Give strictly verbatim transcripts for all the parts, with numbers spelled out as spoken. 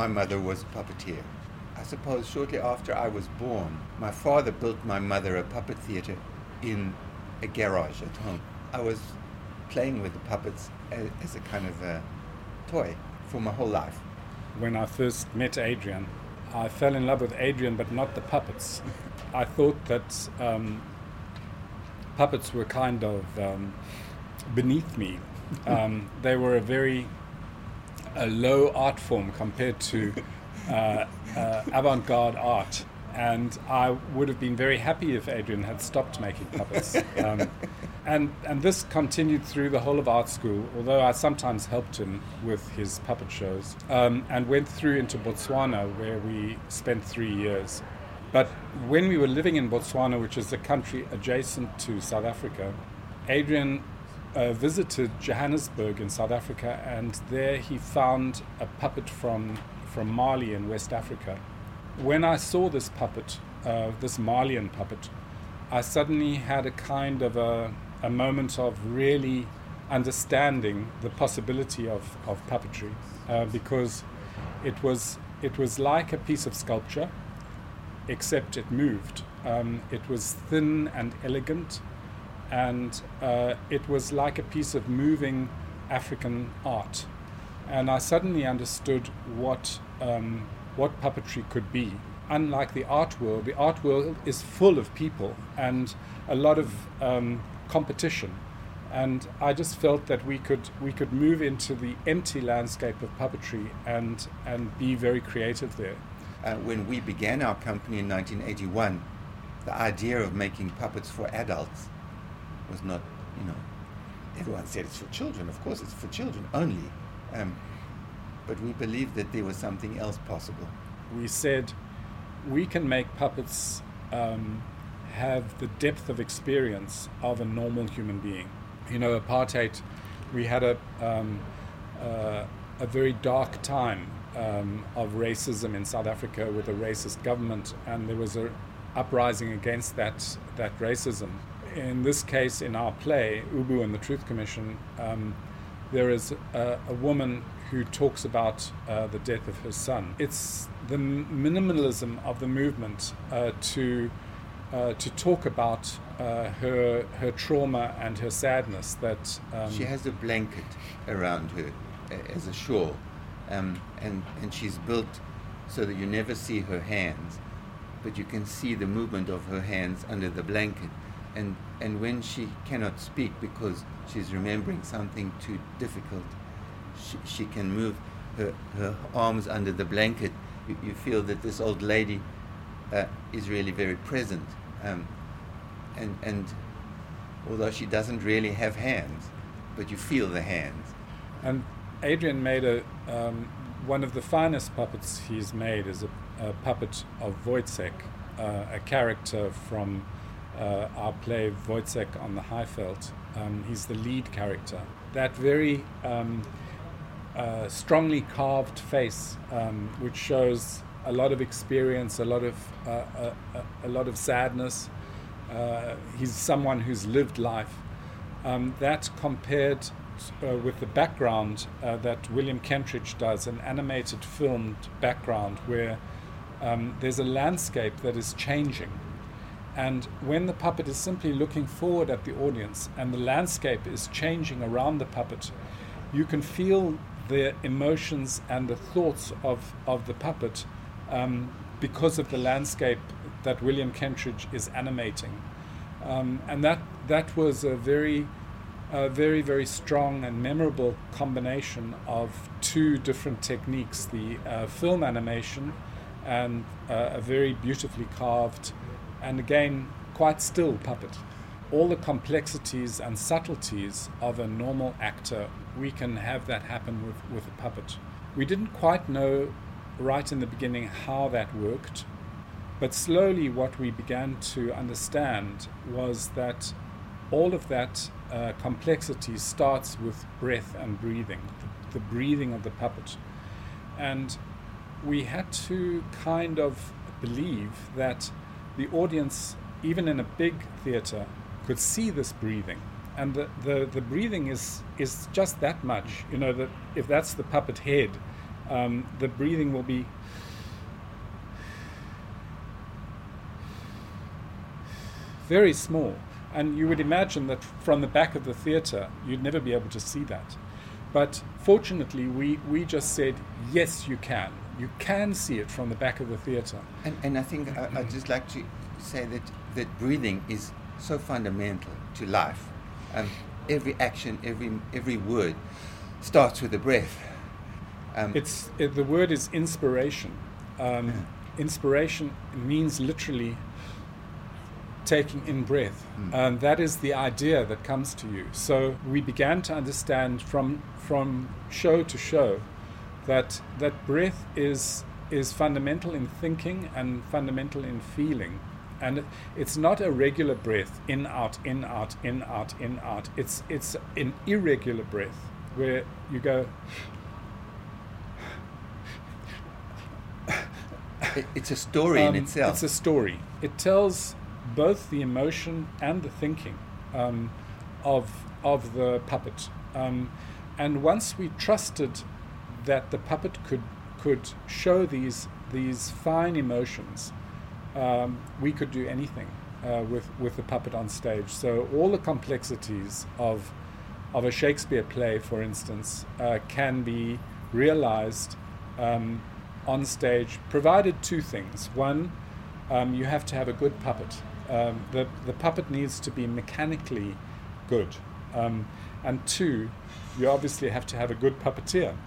my mother was a puppeteer. I suppose shortly after I was born, my father built my mother a puppet theater in a garage at home. I was playing with the puppets as, as a kind of a toy for my whole life. When I first met Adrian, I fell in love with Adrian, but not the puppets. I thought that um, puppets were kind of um, beneath me. Um, they were a very a low art form compared to uh, uh, avant-garde art. And I would have been very happy if Adrian had stopped making puppets. Um, and and this continued through the whole of art school, although I sometimes helped him with his puppet shows, um, and went through into Botswana, where we spent three years. But when we were living in Botswana, which is a country adjacent to South Africa, Adrian uh, visited Johannesburg in South Africa, and there he found a puppet from, from Mali in West Africa. When I saw this puppet, uh, this Malian puppet, I suddenly had a kind of a, a moment of really understanding the possibility of, of puppetry, uh, because it was it was like a piece of sculpture, except it moved. Um, it was thin and elegant, and uh, it was like a piece of moving African art. And I suddenly understood what um, what puppetry could be. Unlike the art world, the art world is full of people and a lot of um, competition. And I just felt that we could we could move into the empty landscape of puppetry and and be very creative there. Uh, when we began our company in nineteen eighty-one, the idea of making puppets for adults was not, you know, everyone said it's for children. Of course, it's for children only. Um, but we believed that there was something else possible. We said we can make puppets um, have the depth of experience of a normal human being. You know, apartheid, we had a um, uh, a very dark time um, of racism in South Africa with a racist government, and there was an uprising against that that racism. In this case, in our play, Ubu and the Truth Commission, um, there is a, a woman who talks about uh, the death of her son. It's the minimalism of the movement uh, to uh, to talk about uh, her her trauma and her sadness. That um, she has a blanket around her uh, as a shawl, um, and and she's built so that you never see her hands, but you can see the movement of her hands under the blanket. And and when she cannot speak because she's remembering something too difficult, she, she can move her, her arms under the blanket. You, you feel that this old lady uh, is really very present. Um, and and although she doesn't really have hands, but you feel the hands. And Adrian made a um, one of the finest puppets he's made is a, a puppet of Wojciech, uh, a character from Uh, our play Wojciech on the Highveld. Um, he's the lead character. That very um, uh, strongly carved face, um, which shows a lot of experience, a lot of uh, a, a lot of sadness. Uh, he's someone who's lived life. Um, that compared uh, with the background uh, that William Kentridge does, an animated filmed background where um, there's a landscape that is changing. And when the puppet is simply looking forward at the audience and the landscape is changing around the puppet, you can feel the emotions and the thoughts of, of the puppet um, because of the landscape that William Kentridge is animating. Um, and that that was a very, uh, very, very strong and memorable combination of two different techniques, the uh, film animation and uh, a very beautifully carved and again, quite still puppet. All the complexities and subtleties of a normal actor, we can have that happen with, with a puppet. We didn't quite know right in the beginning how that worked, but slowly what we began to understand was that all of that uh, complexity starts with breath and breathing, the, the breathing of the puppet. And we had to kind of believe that the audience, even in a big theater, could see this breathing. And the, the, the breathing is is just that much. You know, that if that's the puppet head, um, the breathing will be very small. And you would imagine that from the back of the theatre, you'd never be able to see that. But fortunately, we, we just said, yes, you can. You can see it from the back of the theatre. And, and I think I, I'd just like to say that, that breathing is so fundamental to life. Um, every action, every every word starts with a breath. Um, it's it, the word is inspiration. Um, yeah. Inspiration means literally taking in breath. Mm. And that is the idea that comes to you. So we began to understand from from show to show that that breath is is fundamental in thinking and fundamental in feeling. And it, it's not a regular breath, in, out, in, out, in, out, in, out. It's it's an irregular breath where you go. It's a story um, in itself. It's a story. It tells both the emotion and the thinking um, of of the puppet. Um, and once we trusted that the puppet could could show these these fine emotions, um, we could do anything uh, with with the puppet on stage. So all the complexities of of a Shakespeare play, for instance, uh, can be realized um, on stage, provided two things. One, um, you have to have a good puppet. Um, the the puppet needs to be mechanically good, um, and two, you obviously have to have a good puppeteer,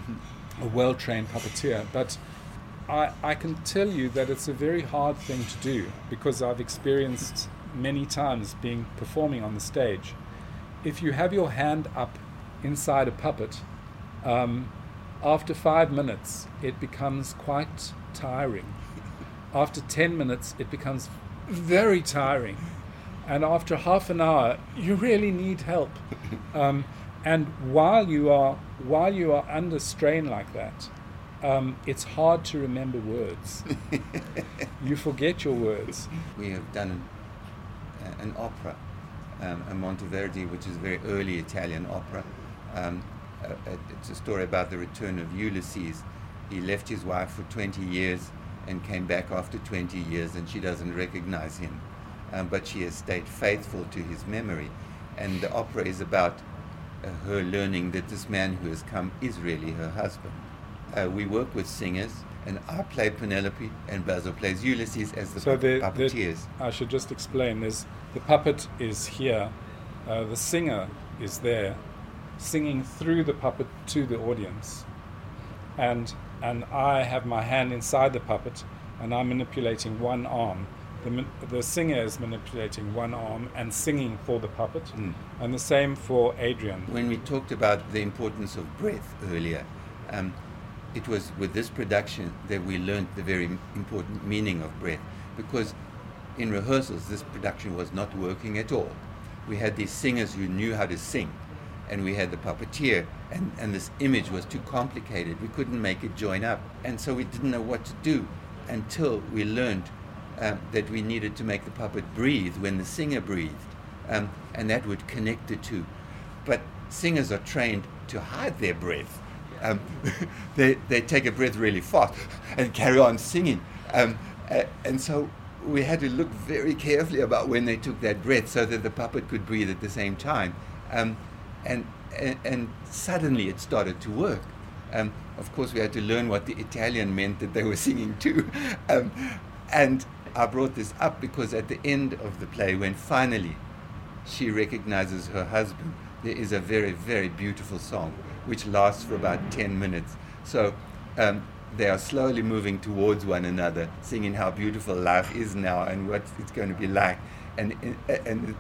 a well-trained puppeteer. But I I can tell you that it's a very hard thing to do, because I've experienced many times being performing on the stage. If you have your hand up inside a puppet, um, after five minutes it becomes quite tiring. After ten minutes it becomes very tiring, and after half an hour you really need help. Um, and while you are while you are under strain like that, um, it's hard to remember words. You forget your words. We have done an, an opera, um, a Monteverdi, which is a very early Italian opera. Um, uh, it's a story about the return of Ulysses. He left his wife for twenty years and came back after twenty years, and she doesn't recognize him, um, but she has stayed faithful to his memory. And the opera is about uh, her learning that this man who has come is really her husband. Uh, we work with singers, and I play Penelope, and Basil plays Ulysses as the so pu- the, puppeteers. The, I should just explain, there's, the puppet is here, uh, the singer is there, singing through the puppet to the audience. And and I have my hand inside the puppet, and I'm manipulating one arm. The the singer is manipulating one arm and singing for the puppet, mm. and the same for Adrian. When we talked about the importance of breath earlier, um, it was with this production that we learned the very important meaning of breath, because in rehearsals this production was not working at all. We had these singers who knew how to sing, and we had the puppeteer, and, and this image was too complicated. We couldn't make it join up, and so we didn't know what to do until we learned um, that we needed to make the puppet breathe when the singer breathed, um, and that would connect the two. But singers are trained to hide their breath. Um, they, they take a breath really fast and carry on singing, um, uh, and so we had to look very carefully about when they took that breath so that the puppet could breathe at the same time. Um, And, and and suddenly it started to work. Um, of course, we had to learn what the Italian meant that they were singing too. Um, and I brought this up because at the end of the play, when finally she recognizes her husband, there is a very, very beautiful song which lasts for about ten minutes. So um, they are slowly moving towards one another, singing how beautiful life is now and what it's going to be like. And and, and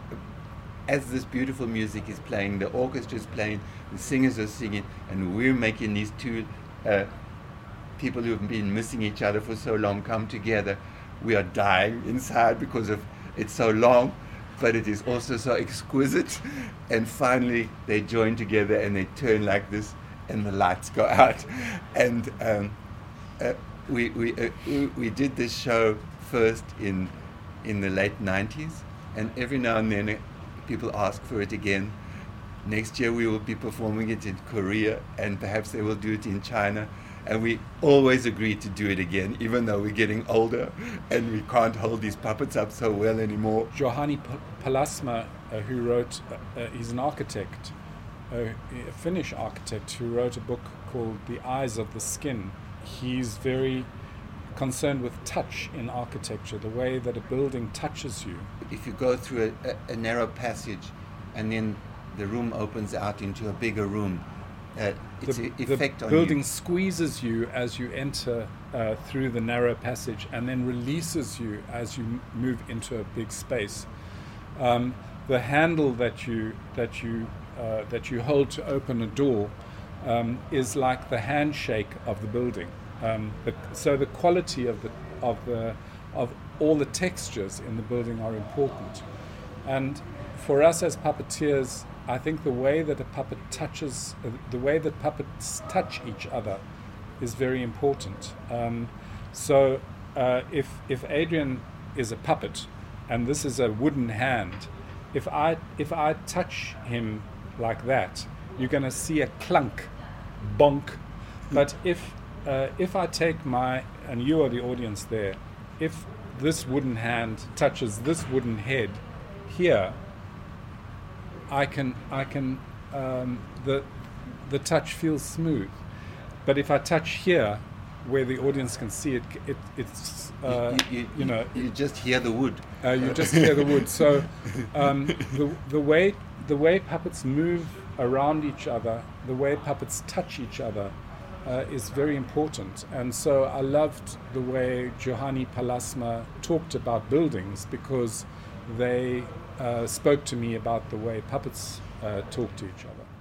as this beautiful music is playing, the orchestra is playing, the singers are singing, and we're making these two uh, people who have been missing each other for so long come together. We are dying inside because of it's so long, but it is also so exquisite. And finally, they join together and they turn like this, and the lights go out. And um, uh, we we uh, we did this show first in in the late nineties, and every now and then people ask for it again, Next year we will be performing it in Korea, and perhaps they will do it in China. And we always agree to do it again, even though we're getting older and we can't hold these puppets up so well anymore. Juhani Palasma, uh, who wrote, uh, uh, he's an architect, uh, a Finnish architect who wrote a book called The Eyes of the Skin. He's very concerned with touch in architecture, the way that a building touches you. If you go through a, a, a narrow passage and then the room opens out into a bigger room, uh, its the, effect the on building you. squeezes you as you enter uh, through the narrow passage and then releases you as you m- move into a big space. Um, the handle that you that you uh, that you hold to open a door um, is like the handshake of the building. Um, the, so the quality of the of the of all the textures in the building are important, and for us as puppeteers, I think the way that a puppet touches, uh, the way that puppets touch each other, is very important. Um, so uh, if if Adrian is a puppet, and this is a wooden hand, if I if I touch him like that, you're going to see a clunk, bonk. But if Uh, if I take my, and you are the audience there, if this wooden hand touches this wooden head here, I can, I can, um, the, the touch feels smooth. But if I touch here, where the audience can see it, it it's, uh, you, you, you, you know, you just hear the wood. Uh, you just hear the wood. So um, the the way the way puppets move around each other, the way puppets touch each other, Uh, is very important. And so I loved the way Juhani Palasma talked about buildings, because they uh, spoke to me about the way puppets uh, talk to each other.